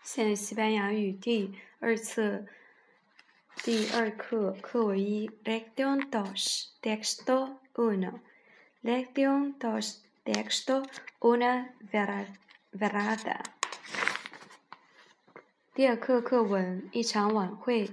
现在西班牙语第二册第二课课文一 Lección 2 Texto 1 Lección 2 Texto una velada 第二课课文一场晚会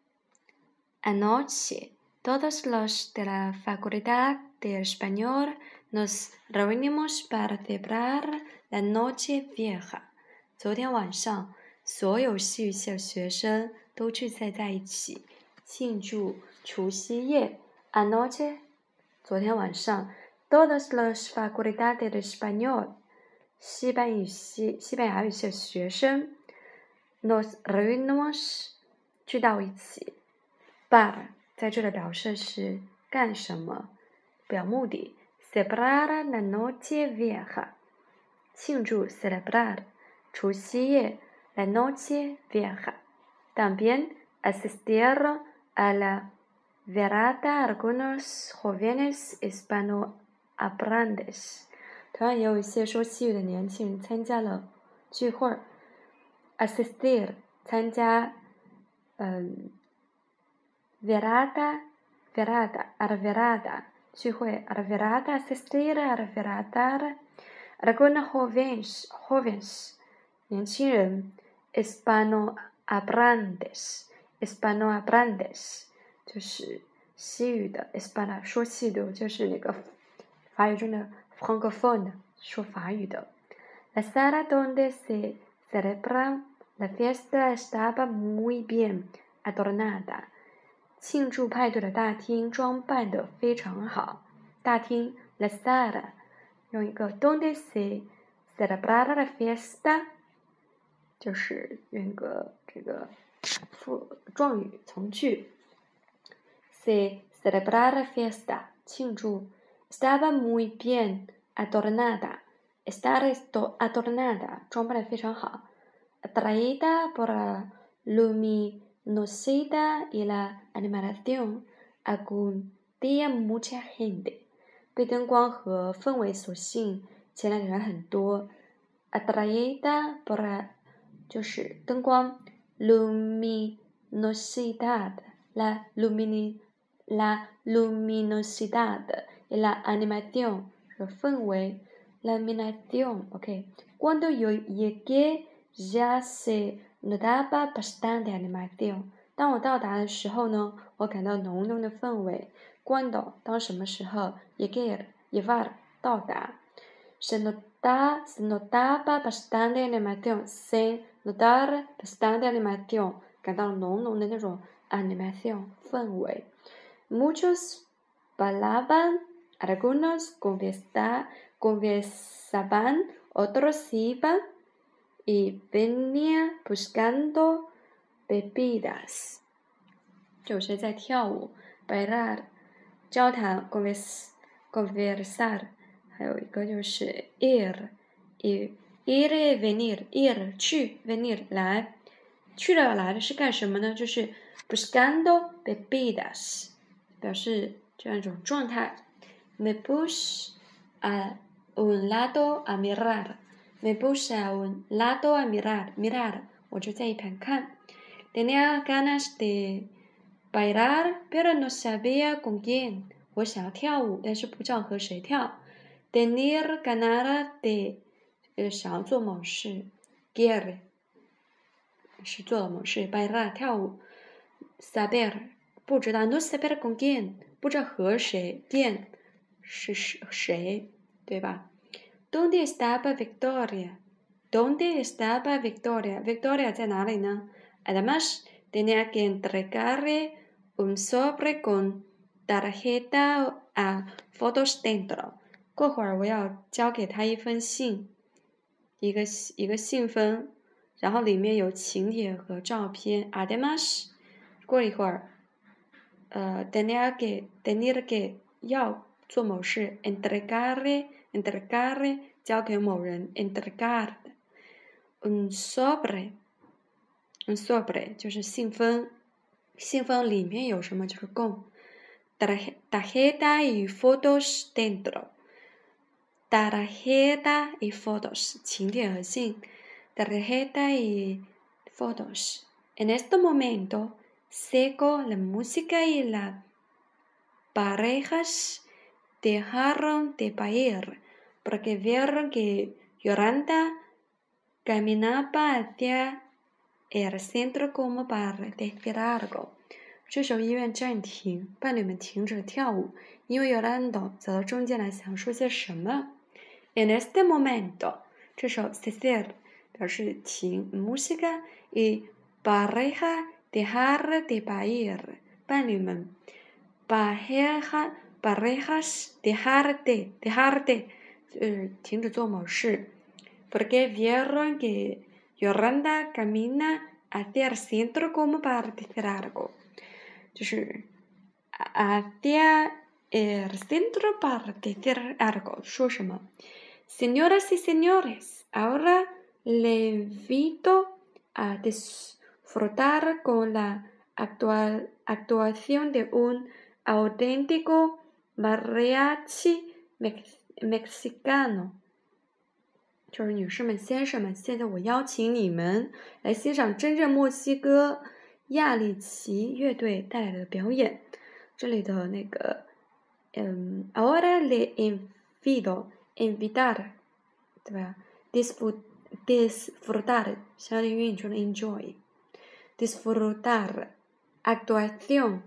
Anoche todos los de la Facultad de Español nos reunimos para celebrar la Noche Vieja 昨天晚上所有戏剧系的学生都聚集在一起庆祝除夕夜 Anoche 昨天晚上 Todos los facultades de español 西班牙语系的学生 Nos reunimos 聚到一起 Para 在这里表示是干什么表目的 Celebrar la noche vieja 庆祝 celebrar除夕夜 la noche vieja también asistieron a la velada algunos jóvenes hispanohablantes 同样也有一些说西语的年轻人参加了聚会 asistir 参加velada a la velada 聚会 a la velada asistir a la velada algunos jóvenes 年轻人 hispanohablantes 就是西语的 hispano 说西语的就是那个法语中的 francophone 说法语的 La sala donde se celebra la fiesta estaba muy bien adornada 庆祝派对的大厅装扮得非常好大厅 La sala 用一个 donde se celebra la fiesta 就是用个这个状语从句 se celebra la fiesta 庆祝 estaba muy bien adornada estar adornada 装扮得非常好 atraída por la luminosidad y la animación acudía mucha gente 被灯光和氛围所吸引前来的人很多 atraída por la 就是灯光 luminosidad la luminosidad y la animación 和氛围 la animación ok cuando yo llegué ya se notaba bastante animación 当我到达的时候呢我感到浓浓的氛围 cuando 当什么时候 llegar 到达 se notaba bastante animación se notar bastante animación 感到浓浓的那种 animación 氛围 muchos bailaban algunos conversaban otros iban y venían buscando bebidas 有些在跳舞 bailar 交谈 conversar 还有一个就是 ir y venir ir 去 venir 来去了来的是干什么呢就是 buscando bebidas 表示这样一种状态 me puse a un lado a mirar me puse a un lado a mirar 我就在一旁看 tenía ganas de bailar pero no sabía con quién 我想要跳舞但是不知道和谁跳 tener ganas de 想要做某事 quiere 是做了某事 bailar 跳舞 saber 不知道 no saber con quién 不知道和谁 quién 是谁对吧 ¿Dónde estaba Victoria? ¿Dónde estaba Victoria? Victoria 在哪里呢 Además tenía que entregarle un sobre con tarjeta a fotos dentro 过会儿我要交给他一封信一个信封然后里面有请帖和照片 Además 过一会儿tenía que 要做某事 entregarle 交给某人 entregar un sobre 就是信封里面有什么就是供 tarjeta y fotos dentro tarjeta y fotos 请帖和信 tarjeta y fotos. En este momento, seco la música y las parejas dejaron de bailar porque vieron que Yolanda caminaba hacia el centro como para decir algo。这时候音乐暂停，伴侣们停止了跳舞，因为 Yolanda 走到中间来想说些什么。En este momento， 这时候 cesar 表示停 música y pareja dejar de bailar， 伴侣们 parejas dejar de 停止做某事。Porque vieron que Yolanda camina hacia el centro como para decir algo， 就是 hacia el centro para decir algo， 说什么 Señoras y señores, ahora le invito a disfrutar con la actuación de un auténtico mariachi mexicano。就是女士们、先生们，现在我邀请你们来欣赏真正墨西哥亚利奇乐队带来的表演。这里的那个ahora le invito invitar， 对吧 disfrutar 相当于你说的 enjoy， disfrutar actuación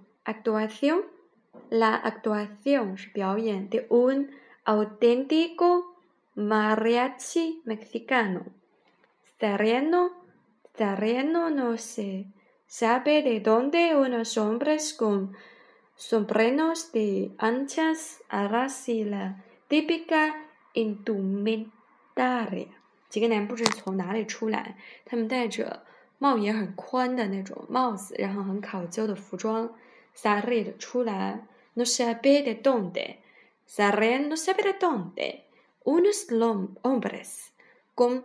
la actuación 是表演 de un auténtico mariachi mexicano. Sereno no se sabe de dónde unos hombres con sombreros de anchas alas y la típica indumentaria。 几个男不知从哪里出来，他们戴着帽檐很宽的那种帽子，然后很考究的服装。salir 出来 no sabe de dónde salir no sabe de dónde。Unos hombres con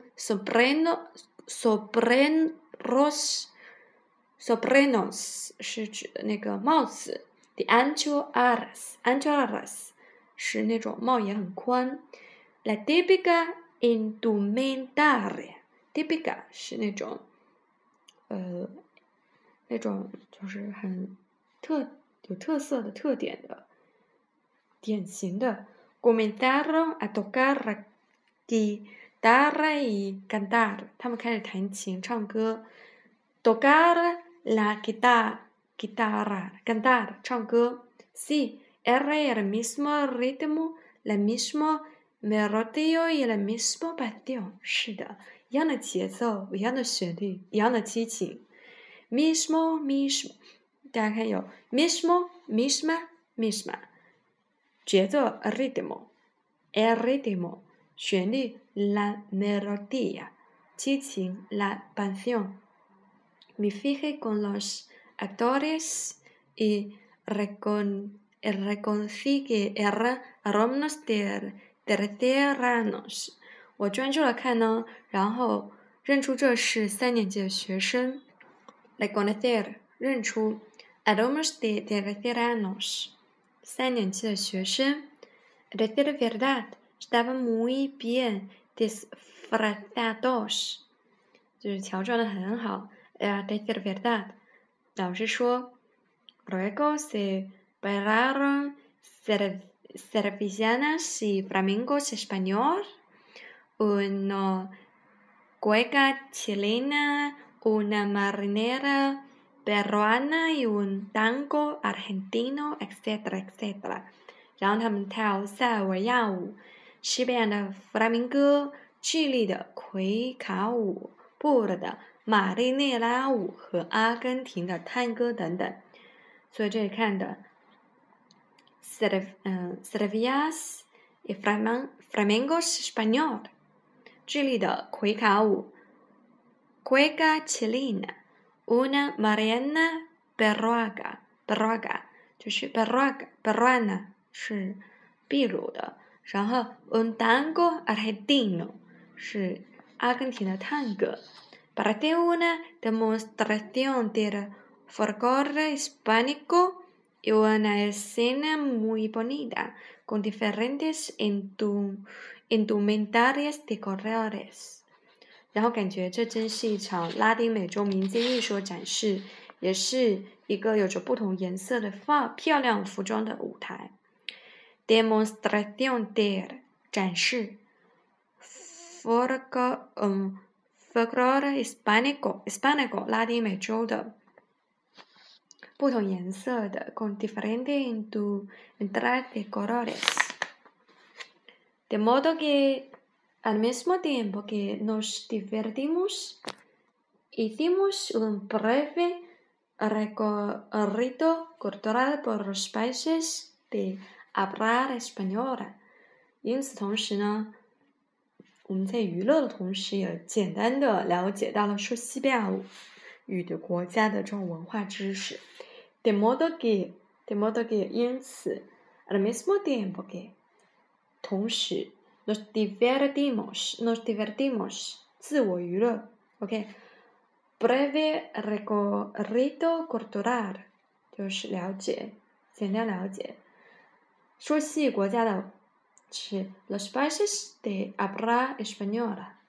sombreros 是指那个帽子 de ancho alas 是那种帽檐很宽 la típica indumentaria típica 是那种就是很有特色的特点的典型的comenzaron a tocar la guitarra y cantar， 他们开始弹琴唱歌 tocar la guitarra cantar 唱歌 sí era el mismo ritmo la misma melodía y la misma pasión， 是的，一样的节奏，一样的旋律，一样的激情 mismo 大家看有 misma 节奏 ritmo el ritmo 旋律 la melodía 激情 la pasión。 Me fijé con los actores y reconocí que eran alumnos de terceros。 我专注了看呢，然后认出这是3年级的学生。 reconocer 认出 alumnos de terceros 3年级的学生。 decir verdad estaban muy bien disfrazados 就是乔装的很好。decir verdad 老师说 luego se bailaron sevillanas y flamencos español, una cueca chilena, una marinera peruana y un tango argentino etcétera etcétera。 然后他们跳塞尔维亚舞、西班牙的弗拉明戈、智利的魁卡舞、布鲁的马利内拉舞和阿根廷的探戈等等。所以这里看的 Sevillanas y flamencos español， 智利的魁卡舞 Cueca chilena， una marinera peruana 就是 peruana 是秘鲁的，然后 un tango argentino 是阿根廷的探戈。 Para hacer una demostración del folclore hispánico y una escena muy bonita con diferentes indumentarias de colores， 然后感觉这真是一场拉丁美洲民间艺术展示，也是一个有着不同颜色的漂亮服装的舞台。Demonstración de 展示 folklore hispánico 拉丁美洲的不同颜色的 con diferente entrada de colores de modo que al mismo tiempo que nos divertimos hicimos un breve recorrido cultural por los países de habla española。因此同时呢，我们在娱乐的同时也简单的了解到了说西班牙语的国家的这种文化知识。de modo que 因此 al mismo tiempo que 同时 nos divertimos 自我娱乐 OK breve recorrido cultural 就是了解简单了解说西语国家的是 los países de habla española